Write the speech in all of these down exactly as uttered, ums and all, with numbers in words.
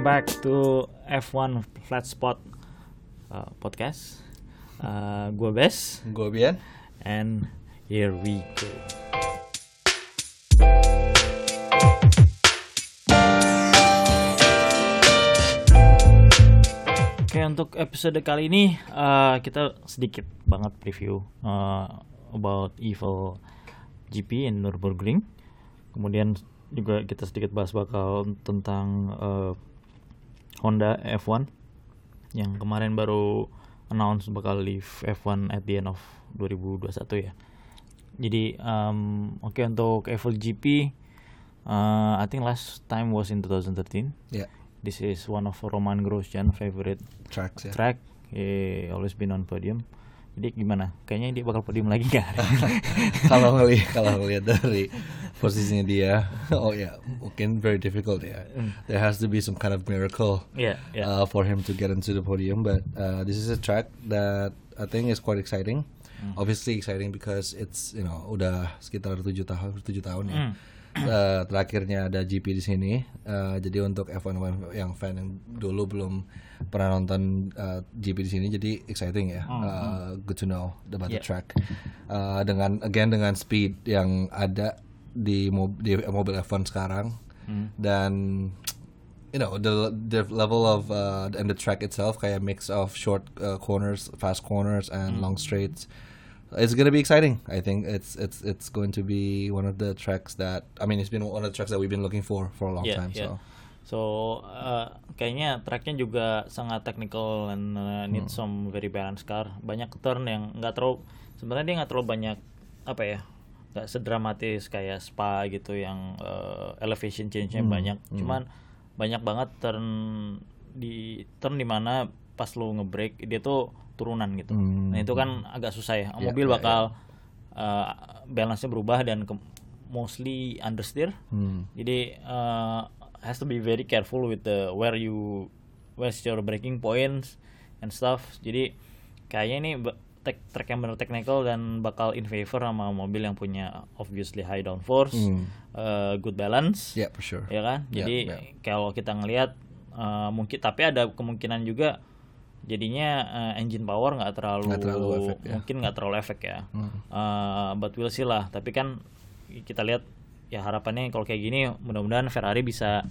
welcome back to F one Flat Spot uh, podcast. Uh, gue Bes, gue Bian, and here we go. Oke, untuk episode kali ini uh, kita sedikit banget preview uh, about Evel G P in Nürburgring. Kemudian juga kita sedikit bahas bakal tentang uh, Honda F one yang kemarin baru announce bakal leave F one at the end of twenty twenty-one ya. Jadi um, oke okay, untuk Evel G P, uh, I think last time was in twenty thirteen. Yeah. This is one of Roman Grosjean favorite tracks. Yeah. Track. He always been on podium. Jadi gimana? Kayaknya dia bakal podium lagi nggak? Kalau ngelihat kalau ngelihat dari posisinya dia, oh ya, yeah, mungkin very difficult ya. Yeah. There has to be some kind of miracle yeah, yeah. Uh, for him to get into the podium. But uh, this is a track that I think is quite exciting. Mm. Obviously exciting because it's you know udah sekitar tujuh tahun tujuh tahun ya. Mm. Uh, terakhirnya ada G P di sini. Uh, jadi untuk F one yang fan yang dulu belum pernah nonton uh, G P di sini, jadi exciting ya. Mm-hmm. Uh, good to know about yeah. the track. Uh, dengan again dengan speed yang ada di, mob, di mobil F one sekarang, mm. dan you know the the level of uh, and the track itself kayak mix of short uh, corners, fast corners, and mm. long straights. It's gonna be exciting. I think it's it's it's going to be one of the tracks that I mean it's been one of the tracks that we've been looking for for a long yeah, time. Yeah. So, so uh, kayaknya tracknya juga sangat technical and uh, need hmm. some very balanced car. Banyak turn yang nggak terlalu sebenarnya dia nggak terlalu banyak apa ya, nggak sedramatis kayak Spa gitu yang uh, elevation change-nya hmm. banyak. Hmm. Cuman banyak banget turn di turn di mana pas lu nge-brake dia tuh turunan gitu. Hmm. Nah itu kan agak susah ya. Yeah, mobil bakal yeah, yeah. Uh, balance-nya berubah dan ke- mostly understeer. Hmm. Jadi uh, has to be very careful with the where you where's your braking points and stuff. Jadi kayaknya ini tek- track yang benar technical dan bakal in favor sama mobil yang punya obviously high downforce, hmm. uh, good balance. Yeah, for sure. Ya kan? Jadi yeah, yeah. kalau kita ngelihat uh, mungkin tapi ada kemungkinan juga jadinya uh, engine power nggak terlalu, terlalu efek, ya. mungkin nggak terlalu efek ya. Hmm. Uh, but we'll see lah. Tapi kan kita lihat ya harapannya kalau kayak gini mudah-mudahan Ferrari bisa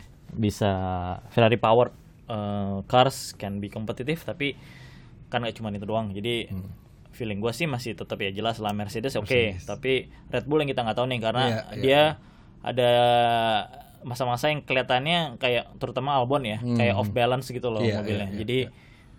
bisa Ferrari power uh, cars can be kompetitif, tapi kan nggak cuma itu doang. Jadi hmm. feeling gue sih masih tetap ya jelas lah Mercedes oke, okay. Tapi Red Bull yang kita nggak tahu nih karena yeah, yeah. dia ada masa-masa yang kelihatannya kayak terutama Albon ya hmm. kayak off balance gitu loh yeah, mobilnya. Yeah, yeah, Jadi yeah.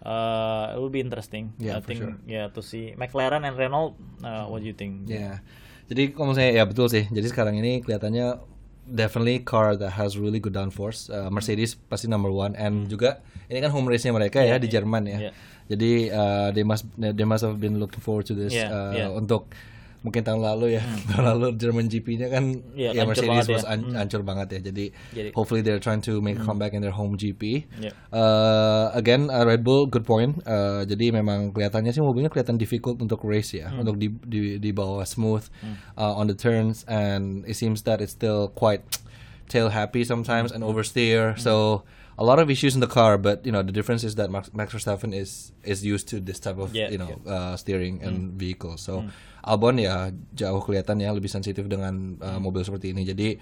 Uh, it will be interesting. Yeah, I think sure. yeah to see McLaren and Renault. Uh, what do you think? Yeah. Jadi kalau saya ya betul sih. Jadi sekarang ini kelihatannya definitely car that has really good downforce. Uh, Mercedes mm. pasti number one, and juga ini kan home race-nya mereka yeah, ya di yeah, Jerman ya. Yeah. Jadi uh, they must they must have been looking forward to this yeah, uh, yeah. untuk mungkin tahun lalu ya, hmm. tahun lalu German G P-nya kan yeah, ya Mercedes was an- ya. ancur banget ya. Jadi, Jadi hopefully they're trying to make a comeback in their home G P. Yeah. Uh, again uh, Red Bull good point. Uh, jadi memang kelihatannya sih mobilnya kelihatan difficult untuk race ya, hmm. untuk di di di bawah smooth hmm. uh, on the turns, and it seems that it's still quite tail happy sometimes and oversteer. Hmm. So a lot of issues in the car, but you know the difference is that Max, Max Verstappen is is used to this type of yeah, you know yeah. uh, steering and mm. vehicle. So mm. Albon ya jauh kelihatan ya lebih sensitif dengan uh, mm. mobil seperti ini. Jadi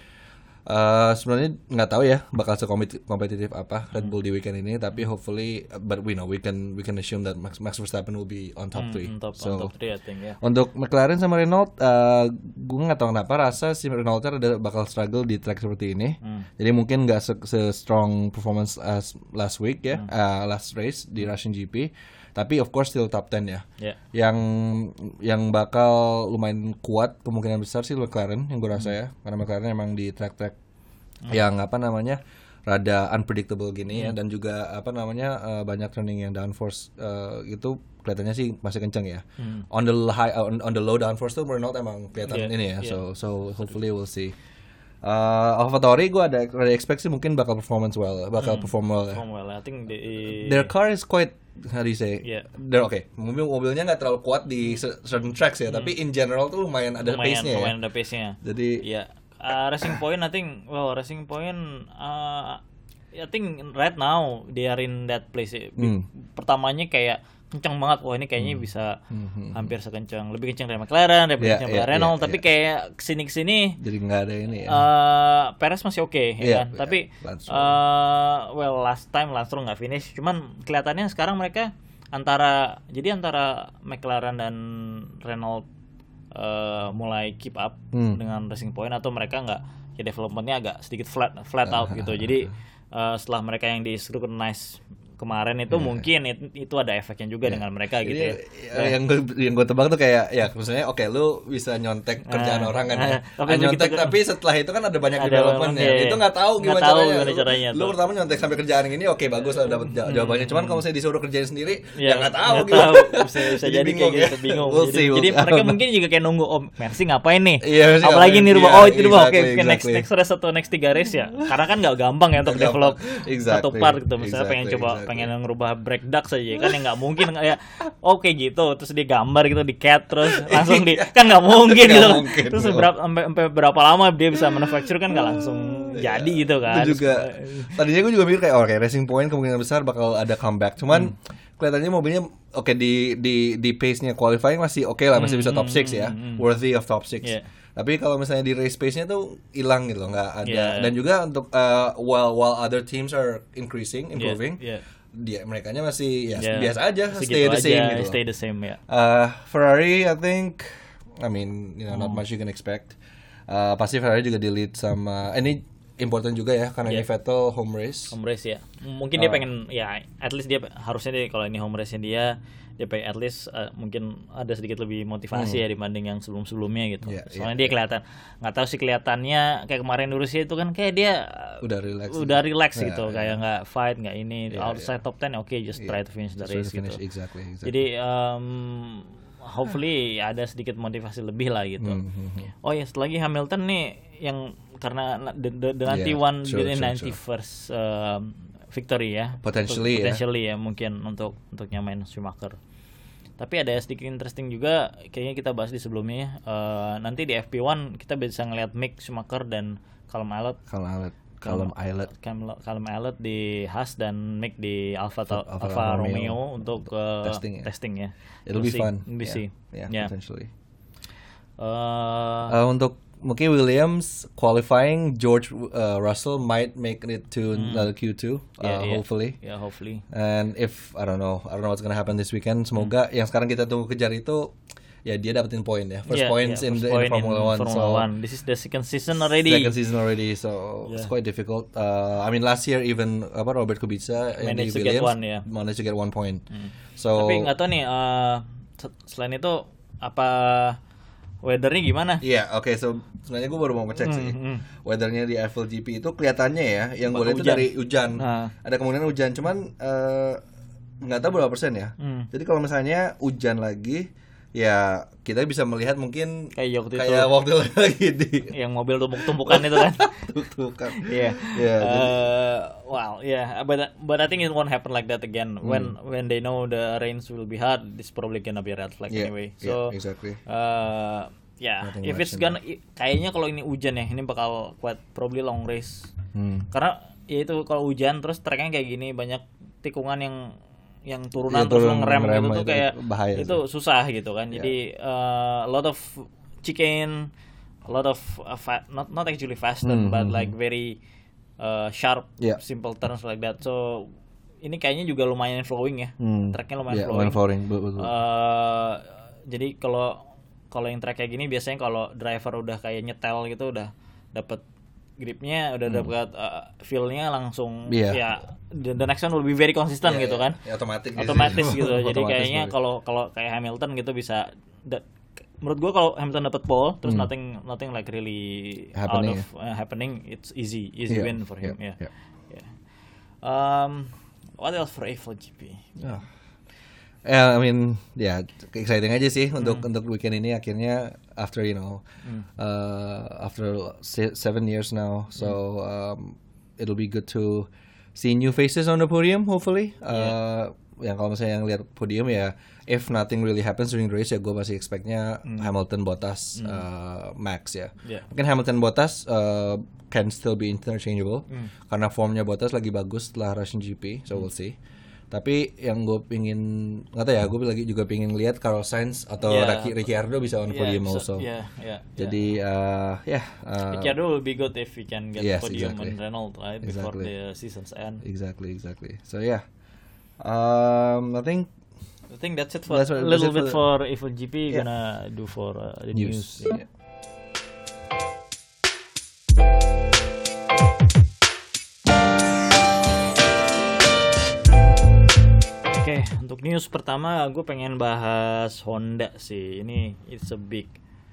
uh, sebenarnya nggak tahu ya bakal sekompetitif apa Red Bull mm. di weekend ini, tapi hopefully, but we know we can we can assume that Max, Max Verstappen will be on top mm, three. Top, so on top three, I think, yeah. Untuk McLaren sama Renault, uh, gue nggak tahu kenapa rasa si Renault ada bakal struggle di track seperti ini. Mm. Jadi mungkin nggak se-strong performance as last week ya, mm. uh, last race di Russian G P. Tapi of course still top ten ya. Yeah. Yang yang bakal lumayan kuat kemungkinan besar sih McLaren yang gue rasa mm. ya, karena McLaren emang di track-track mm. yang apa namanya rada unpredictable gini mm. ya, dan juga apa namanya uh, banyak turning yang downforce uh, itu kelihatannya sih masih kenceng ya. Mm. On the high on, on the low downforce tuh Renault emang kelihatan yeah. ini ya. Yeah. So so hopefully we'll see. Uh, AlphaTauri gue ada ada expect sih mungkin bakal performance well, bakal mm. perform well. Perform well. I think the, their car is quite how do you say? Yeah. They're okay. Mobil mobilnya nggak terlalu kuat di certain tracks ya, mm. tapi in general tuh lumayan ada lumayan, pace-nya. Lumayan ya. ada pace-nya. Jadi ya yeah. uh, Racing Point I think well Racing Point uh, I think right now they are in that place. Hmm. Pertamanya kayak kencang banget, wah ini kayaknya hmm. bisa hmm. hampir sekencang, lebih kencang dari McLaren, lebih yeah, kencang yeah, dari Renault, yeah, tapi yeah. kayak kesini kesini jadi nggak ada ini ya. Uh, Perez masih oke, okay, ya yeah, kan? Yeah, tapi uh, well last time Lance Stroll nggak finish, cuman kelihatannya sekarang mereka antara jadi antara McLaren dan Renault uh, mulai keep up hmm. dengan Racing Point, atau mereka nggak, ya developmentnya agak sedikit flat flat out gitu. Jadi uh, setelah mereka yang di scrutinize kemarin itu yeah. mungkin itu, itu ada efeknya juga yeah. dengan mereka gitu ya. ya. Yang gue yang gue tebak tuh kayak ya maksudnya oke okay, lu bisa nyontek kerjaan uh, orang kan ya. Uh, tapi nyontek gitu, tapi setelah itu kan ada banyak developmentnya. Ya. Itu nggak tahu gimana tahu caranya. Gimana caranya lu, lu pertama nyontek sampai kerjaan ini oke okay, bagus lah dapat jawabannya. Cuman kalau saya disuruh kerjain sendiri yeah, ya nggak tahu gitu. Bisa, bisa jadi bingung, kayak gitu ya. bingung. We'll jadi, we'll jadi mereka mungkin juga kayak nunggu oh Mercy ngapain nih. Yeah, apalagi nih rubah oh itu rubah oke next next race atau next tiga race ya. Karena kan nggak gampang ya untuk develop satu part gitu. Misalnya pengen coba pengen ngerubah break duck saja kan, yang nggak mungkin ya oke okay, gitu terus dia gambar gitu di cat terus langsung di kan nggak mungkin gitu mungkin, terus berapa sampai sampai berapa lama dia bisa manufacture kan nggak langsung ya, jadi gitu kan. Itu juga tadinya gue juga mikir kayak oh, kayak Racing Point kemungkinan besar bakal ada comeback, cuman hmm. kelihatannya mobilnya oke okay, di di di pace-nya qualifying masih oke okay lah, masih bisa top six ya, hmm. worthy of top six. Yeah. Tapi kalau misalnya di race pace-nya tuh hilang gitu, nggak ada. Yeah. Dan juga untuk uh, while while other teams are increasing, improving. Yeah. Yeah. Dia merekanya masih ya yeah. biasa aja, stay the same aja, gitu. Stay the same ya. Uh, Ferrari, I think, I mean, you know, hmm. not much you can expect. Uh, pasti Ferrari juga di lead sama, eh, ini important juga ya karena yeah. ini Vettel home race. Home race ya. Mungkin uh, dia pengen ya, at least dia harusnya dia kalau ini home race-nya dia, dia pengen at least uh, mungkin ada sedikit lebih motivasi hmm. ya dibanding yang sebelum-sebelumnya gitu. Yeah, Soalnya yeah, dia kelihatan, nggak tahu sih kelihatannya kayak kemarin di Rusia itu kan kayak dia udah relax, udah relax gitu, yeah, kayak nggak yeah. fight nggak ini yeah, outside yeah. top ten oke okay, just yeah. try to finish the race finish, gitu. Exactly, exactly. Jadi um, hopefully ada sedikit motivasi lebih lah gitu. Mm-hmm. Oh ya, setelah lagi Hamilton nih yang karena the, the, the ninety one yeah, the ninety first uh, victory ya. Potentially, potentially ya. ya mungkin untuk untuk nyamain Schumacher. Tapi ada sedikit interesting juga kayaknya kita bahas di sebelumnya. Uh, nanti di F P one kita bisa ngelihat Mick Schumacher dan Callum Ilott. Callum Ilott. Callum Ilott. Callum Ilott di Haas dan Mick di Alfa Alfa, Alfa Romeo, Romeo untuk uh, testing, ya. testing ya. It'll we'll be see. fun. We'll yeah. see. Yeah, yeah. potentially. Uh, uh, untuk mungkin Williams qualifying, George uh, Russell might make it to mm. another Q two, uh, yeah, yeah. hopefully. Yeah, hopefully. And if I don't know, I don't know what's gonna happen this weekend. Semoga mm. yang sekarang kita tunggu kejar itu, ya dia dapetin poin ya, first yeah, points yeah, first in, the, point in Formula One. Formula so One. This is the second season already. Second season already, so yeah. it's quite difficult. Uh, I mean last year even apa Robert Kubica managed to Williams get one, yeah. managed to get one point. Mm. So tapi nggak tahu nih, uh, selain itu apa weathernya gimana? Iya, yeah, oke. Okay, so sebenarnya gue baru mau ngecek mm, sih. Mm. Weathernya di F one G P itu kelihatannya ya, yang gue lihat itu dari hujan. Nah. Ada kemungkinan hujan, cuman nggak uh, tahu berapa persen ya. Mm. Jadi kalau misalnya hujan lagi, ya kita bisa melihat mungkin kayak waktu kayak itu, waktu lagi di yang mobil tumpuk-tumpukan itu kan. Tumpuk-tumpukan. Iya. Iya. Well, yeah, but but I think it won't happen like that again. Mm. When when they know the rains will be hard, this probably gonna be a red flag yeah, anyway. So yeah, exactly. Uh, ya, yeah, if it's gonna i- kayaknya kalau ini hujan ya, ini bakal quite probably long race. Hmm. Karena ya itu kalau hujan terus tracknya kayak gini banyak tikungan yang yang turunan ya, terus turun, ngerem gitu tuh kayak bahaya itu sih. Susah gitu kan. Yeah. Jadi uh, a lot of chicane, a lot of uh, fa- not not actually fast mm-hmm. but like very uh, sharp, yeah. simple turns like that. So ini kayaknya juga lumayan flowing ya. Mm. Tracknya lumayan yeah, flowing. flowing. Betul. Uh, jadi kalau kalau yang track kayak gini biasanya kalau driver udah kayak nyetel gitu udah dapat gripnya, udah hmm. dapat uh, feel-nya langsung yeah. ya the, the next one will be very consistent yeah, gitu yeah. kan. Ya, otomatis otomatis gitu. Jadi kayaknya kalau kalau kayak Hamilton gitu bisa da, menurut gua kalau Hamilton dapat pole terus hmm. nothing nothing like really happening, out of uh, happening, it's easy easy yeah. win for him ya. Yeah. Yeah. Yeah. Um what else for F one G P? Yeah. Yeah, I mean, ya yeah, exciting aja sih untuk mm. untuk weekend ini akhirnya after you know mm. uh, after seven years now, so um, it'll be good to see new faces on the podium hopefully. Uh, yeah. yang kalau misalnya yang lihat podium ya, if nothing really happens during the race ya gue masih expectnya hmm. Hamilton, Bottas, hmm. uh, Max ya. Yeah. Mungkin Hamilton, Bottas uh, can still be interchangeable hmm. karena formnya Bottas lagi bagus setelah Russian G P, so hmm. we'll see. Tapi yang gue pingin, nggak tahu ya, gue lagi juga pingin lihat Carlos Sainz atau yeah. Ricciardo bisa on yeah, podium so, also. Yeah, yeah, Jadi ya yeah. uh, yeah, uh, Ricciardo will be good if he can get yes, podium exactly. on Renault right exactly. before the season's end. Exactly, exactly. So yeah, um, I think I think that's it for that's a little bit for, for F one G P. Yeah. Gonna do for uh, the news. news. Yeah. Oke, okay, untuk news pertama gue pengen bahas Honda sih. Ini it's a big,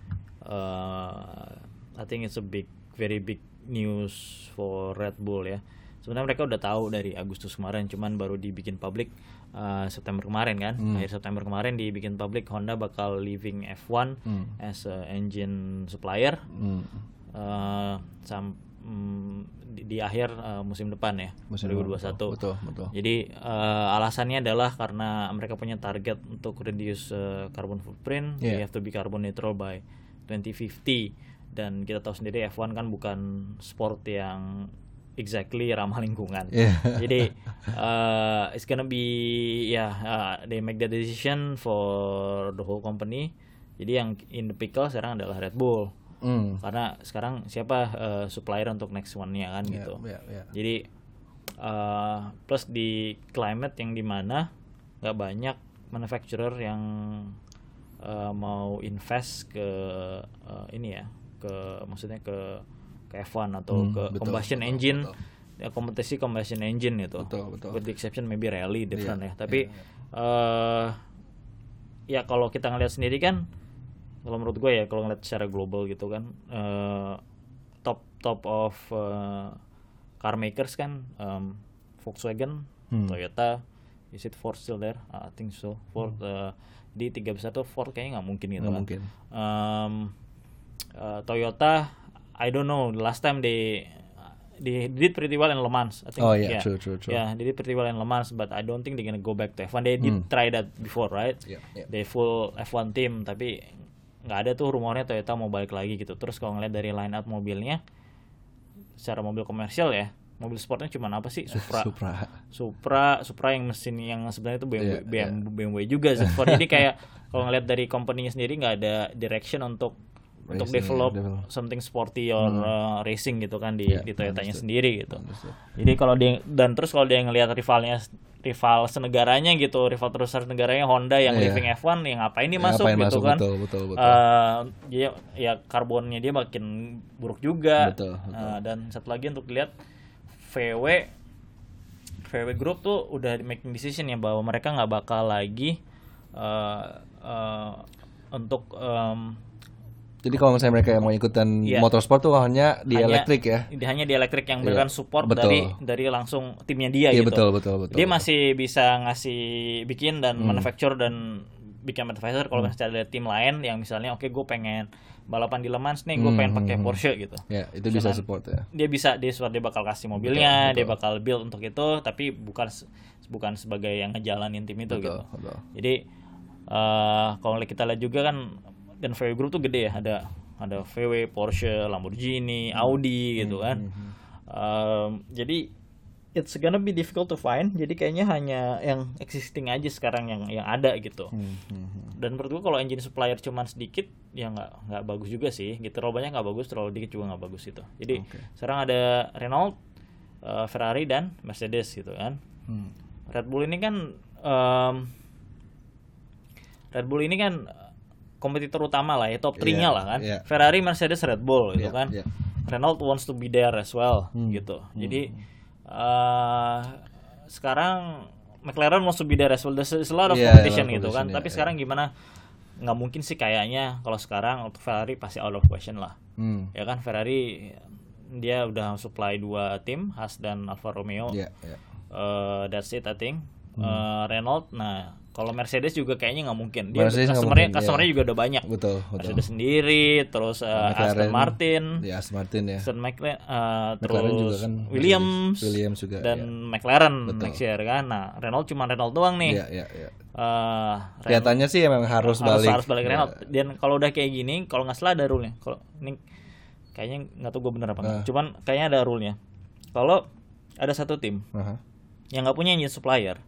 uh, I think it's a big, very big news for Red Bull ya. Sebenarnya mereka udah tahu dari Agustus kemarin, cuman baru dibikin public uh, September kemarin kan. Hmm. Akhir September kemarin dibikin public Honda bakal leaving F one hmm. as a engine supplier hmm. uh, sam- Di, di akhir uh, musim depan ya, musim dua ribu dua puluh satu. Betul, betul. Jadi uh, alasannya adalah karena mereka punya target untuk reduce uh, carbon footprint, yeah. they have to be carbon neutral by twenty fifty. Dan kita tahu sendiri F one kan bukan sport yang exactly ramah lingkungan. Yeah. Jadi uh, it's gonna be ya yeah, uh, they make the decision for the whole company. Jadi yang in the pickle sekarang adalah Red Bull. Mm. Karena sekarang siapa uh, supplier untuk next one-nya kan yeah, gitu. Yeah, yeah. Jadi uh, plus di climate yang dimana nggak banyak manufacturer yang uh, mau invest ke uh, ini ya, ke maksudnya ke ke F one atau mm, ke betul, combustion betul, engine, betul. Ya, kompetisi combustion engine itu. Betul, betul. With the exception maybe rally different yeah, ya. Tapi yeah, yeah. Uh, ya kalau kita ngeliat sendiri kan. Kalau menurut gue ya, kalau ngeliat secara global gitu kan, uh, top top of uh, car makers kan, um, Volkswagen, hmm. Toyota, is it Ford still there? Uh, I think so. Ford hmm. uh, di tiga besar tuh Ford kayaknya nggak mungkin gitu gak kan. Mungkin. Um, uh, Toyota, I don't know. The last time they they did pretty well in Le Mans. I think. Oh yeah, yeah, true, true, true. Yeah, they did pretty well in Le Mans, but I don't think they're gonna go back to F one. They did hmm. try that before, right? Yeah, yeah. They full F one team, tapi nggak ada tuh rumornya Toyota mau balik lagi gitu. Terus kalau ngeliat dari line up mobilnya, secara mobil komersial ya, mobil sportnya cuma apa sih? Supra, Supra, Supra, Supra yang mesin yang sebenarnya itu B M W, yeah, B M W, yeah. B M W juga. Jadi kayak kalau ngeliat dari company-nya sendiri nggak ada direction untuk racing, untuk develop, yeah, develop something sporty or hmm. uh, racing gitu kan di, yeah, di Toyotanya sendiri gitu. Understood. Jadi kalau dia dan terus kalau dia ngelihat rivalnya rival senegaranya gitu, rival terbesar negaranya Honda yang yeah. living F one yang ngapain dia masuk ngapain gitu masuk, kan. Betul, betul, betul. Uh, dia ya karbonnya dia makin buruk juga. Betul, betul. Uh, dan satu lagi untuk lihat V W V W Group tuh udah making decision ya bahwa mereka nggak bakal lagi uh, uh, untuk um, jadi kalau misalnya mereka yang mau ikutan yeah. motorsport tuh hanya di hanya, elektrik ya. Hanya di elektrik yang berikan yeah. support betul. dari dari langsung timnya dia yeah, gitu. Betul, betul, betul. Dia betul. masih bisa ngasih bikin dan hmm. manufacture dan bikin advisor kalau hmm. misalnya ada tim lain yang misalnya oke okay, gue pengen balapan di Le Mans nih, gue hmm. pengen pakai Porsche gitu. Ya, yeah, itu bisa support ya. Dia bisa dia support, dia bakal kasih mobilnya, betul, betul. Dia bakal build untuk itu, tapi bukan bukan sebagai yang ngejalanin tim itu betul, gitu. Betul. Jadi uh, kalau kita lihat juga kan dan V W Group tuh gede ya, ada ada V W, Porsche, Lamborghini, Audi gitu kan. Mm-hmm. Um, jadi it's gonna be difficult to find. Jadi kayaknya hanya yang existing aja sekarang yang yang ada gitu. Mm-hmm. Dan menurut gua kalau engine supplier cuman sedikit ya nggak nggak bagus juga sih. Gitu terlalu banyak nggak bagus, terlalu dikit juga nggak bagus itu. Jadi okay. sekarang ada Renault, uh, Ferrari dan Mercedes gitu kan. Mm. Red Bull ini kan um, Red Bull ini kan kompetitor utama lah ya, top tiga-nya yeah, lah kan. Yeah. Ferrari, Mercedes, Red Bull gitu yeah, kan. Yeah. Renault wants to be there as well hmm. gitu. Hmm. Jadi uh, sekarang McLaren wants to be there as well. There's a lot of yeah, competition yeah, gitu kan. Yeah, Tapi yeah. sekarang gimana? Nggak mungkin sih kayaknya kalau sekarang untuk Ferrari pasti out of question lah. Hmm. Ya kan Ferrari dia udah supply dua tim, Haas dan Alfa Romeo. Yeah, yeah. Uh, that's it I think. hmm. uh, Renault. Nah, kalau Mercedes juga kayaknya nggak mungkin. Dia Mercedes customernya, mungkin, customernya ya. juga udah banyak. Betul, betul. Mercedes sendiri, terus uh, Aston Martin, ya Aston Martin ya. Aston McLaren, uh, McLaren terus juga kan, Williams, Williams juga, dan ya. McLaren Betul. next year kan. Nah, Renault cuma Renault doang nih. Iya, iya, iya. Uh, Kelihatannya sih emang harus, harus balik. Harus balik ya. Renault. Dan kalau udah kayak gini, kalau nggak salah ada rule-nya. Kalau ini kayaknya nggak tahu gue bener apa nggak. Uh. Cuman kayaknya ada rule-nya. Kalau ada satu tim uh-huh. yang nggak punya engine supplier.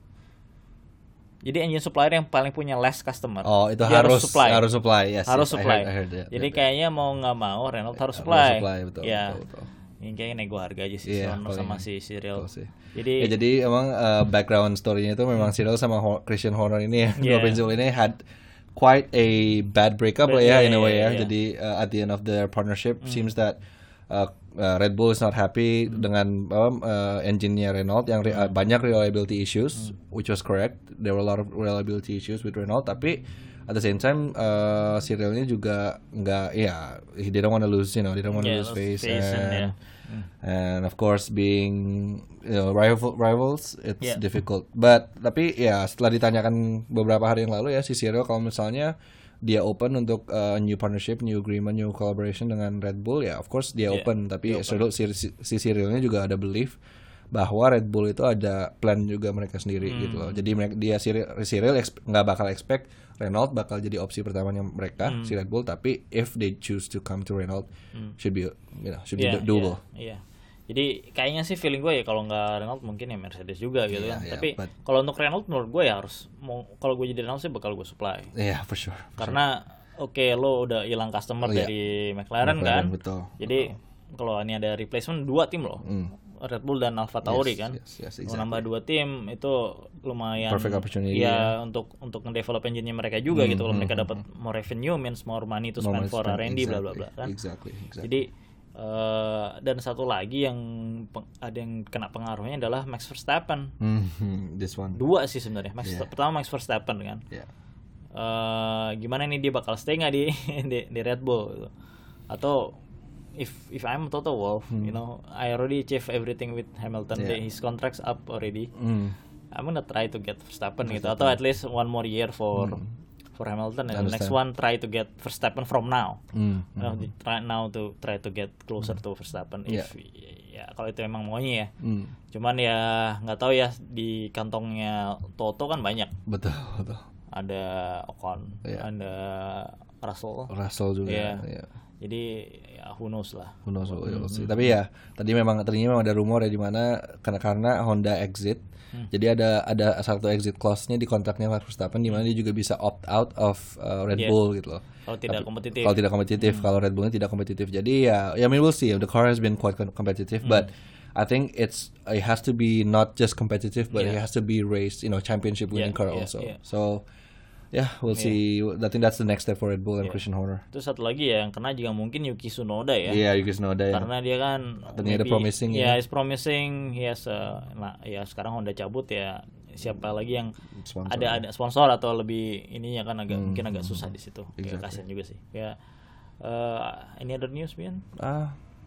Jadi engine supplier yang paling punya less customer. Oh, itu harus, harus supply. Harus supply. Yes, harus yes, supply. I heard, I heard that, Jadi that, kayaknya mau nggak mau Renault harus supply. Harus supply, betul, ya. betul, betul. Ini kayaknya nego harga aja sih yeah, sama, sama si Cyril. Jadi ya, jadi emang uh, background story-nya itu memang Cyril sama Ho- Christian Horner ini ya, yeah. dua pensiun ini had quite a bad breakup lah ya, yeah, in a way yeah, ya. Yeah. Jadi uh, at the end of their partnership mm. seems that uh, uh, Red Bull is not happy mm. dengan um, uh, engine-nya Renault yang re- uh, banyak reliability issues, mm. which was correct. There were a lot of reliability issues with Renault, tapi at the same time uh, Cyrilnya juga nggak, ya yeah, he didn't want to lose, you know, didn't want to yeah, lose face, face and, and, yeah. mm. and of course being, you know, rival rivals it's yeah. difficult. But tapi ya setelah ditanyakan beberapa hari yang lalu ya si Cyril kalau misalnya dia open untuk uh, new partnership, new agreement, new collaboration dengan Red Bull, ya of course dia yeah, open. Tapi open. Si, si, si Cyrilnya juga ada belief bahwa Red Bull itu ada plan juga mereka sendiri hmm. gitu loh. Jadi mereka, dia Cyril, Cyril nggak bakal expect Renault bakal jadi opsi pertamanya mereka hmm. si Red Bull. Tapi if they choose to come to Renault, hmm. should be, you know, should yeah, be doable. Iya. Yeah, yeah. Jadi kayaknya sih feeling gue ya kalau nggak Renault mungkin ya Mercedes juga gitu yeah, kan. Yeah, Tapi but... kalau untuk Renault menurut gue ya harus mau, kalau gue jadi Renault sih bakal gue supply. Iya yeah, for sure. For Karena sure. oke okay, lo udah hilang customer oh, dari yeah. McLaren, McLaren kan. Betul. Jadi kalau ini ada replacement dua tim loh. Mm. Red Bull dan Alfa Tauri yes, kan. Yes, yes, exactly. Nambah dua tim itu lumayan perfect opportunity. Ya, ya. untuk untuk ngedevelop engine-nya mereka juga mm, gitu. Kalau mm, mereka mm, dapat more revenue means more money to spend for R and D bla bla bla kan. Exactly, exactly. Jadi uh, dan satu lagi yang peng, ada yang kena pengaruhnya adalah Max Verstappen. Mm-hmm, this one. Dua sih sebenarnya. Max yeah. pertama Max Verstappen kan. Yeah. Uh, gimana nih dia bakal stay nggak di, di di Red Bull gitu. Atau if if I'm Toto Wolff, hmm. you know, I already achieved everything with Hamilton. Yeah. His contract's up already. Mm. I'm gonna try to get Verstappen gitu, atau at least one more year for mm. for Hamilton, and the next one try to get Verstappen from now. Mm. You know, mm. try now to try to get closer mm. to Verstappen. If yeah. ya kalau itu emang maunya ya. Mm. Cuman ya nggak tahu ya, di kantongnya Toto kan banyak. Betul betul. Ada Ocon, yeah. ada Russell. Russell juga. Yeah. Yeah. Jadi ya who knows lah. Who knows, mm-hmm. we'll Tapi ya tadi memang tadinya memang ada rumor ya di mana karena karena Honda exit. Hmm. Jadi ada ada satu exit clause-nya di kontraknya Max Verstappen di mana dia juga bisa opt out of uh, Red yeah. Bull gitu loh. Kalau tidak Tapi, kompetitif. Kalau tidak kompetitif, hmm. kalau Red Bullnya tidak kompetitif. Jadi ya ya I mean we'll see. The car has been quite competitive, hmm. but I think it's it has to be not just competitive, but yeah. it has to be raced, you know, championship winning yeah, car yeah, also. Yeah. So yeah, we'll yeah. see. I think that's the next step for Red Bull and yeah. Christian Horner. Terus satu lagi ya yang kena juga mungkin Yuki Tsunoda ya. Iya, yeah, Yuki Tsunoda ya. Karena dia kan ternyata promising ya. Yeah, ya. is promising. He has a, nah ya sekarang Honda cabut ya. Siapa lagi yang sponsor. ada ada sponsor atau lebih ininya kan agak hmm. mungkin agak susah di situ. Exactly. Ya, kasian juga sih. Ya. Uh, any other news, Bian? Ah. Uh,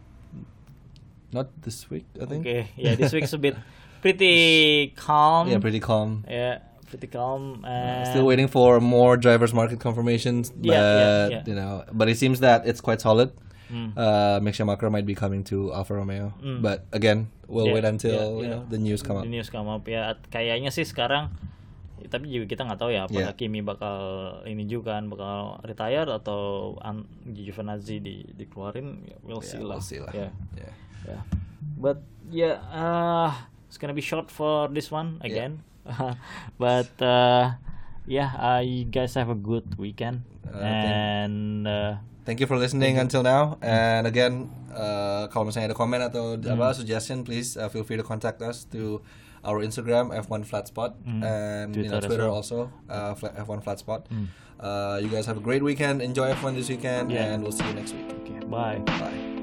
not this week, I think. Okay. Yeah, this week's a bit pretty calm. Yeah, pretty calm. Yeah. Pretty calm. And still waiting for more drivers market confirmations, but yeah, yeah, yeah. you know, but it seems that it's quite solid. Mm. Uh, Mick Schumacher might be coming to Alfa Romeo, mm. but again, we'll yeah, wait until yeah, yeah. you know the news come up. The news come up ya, kayaknya sih sekarang, tapi juga kita nggak tahu ya apakah yeah. Kimi bakal ini juga kan bakal retire atau an- Giovinazzi di dikeluarin, we'll yeah, see lah. We'll see lah. Yeah. Yeah. Yeah. But yeah, uh, it's gonna be short for this one again. Yeah. But uh, yeah, uh, you guys have a good weekend, uh, and uh, thank you for listening until now. And again, uh, kalau misalnya ada komen atau mm. apa suggestion, please uh, feel free to contact us through our Instagram F one Flatspot mm. and Twitter, you know, Twitter also uh, F one Flatspot. Mm. Uh, you guys have a great weekend. Enjoy F one this weekend, yeah. and we'll see you next week. Okay, bye. Bye.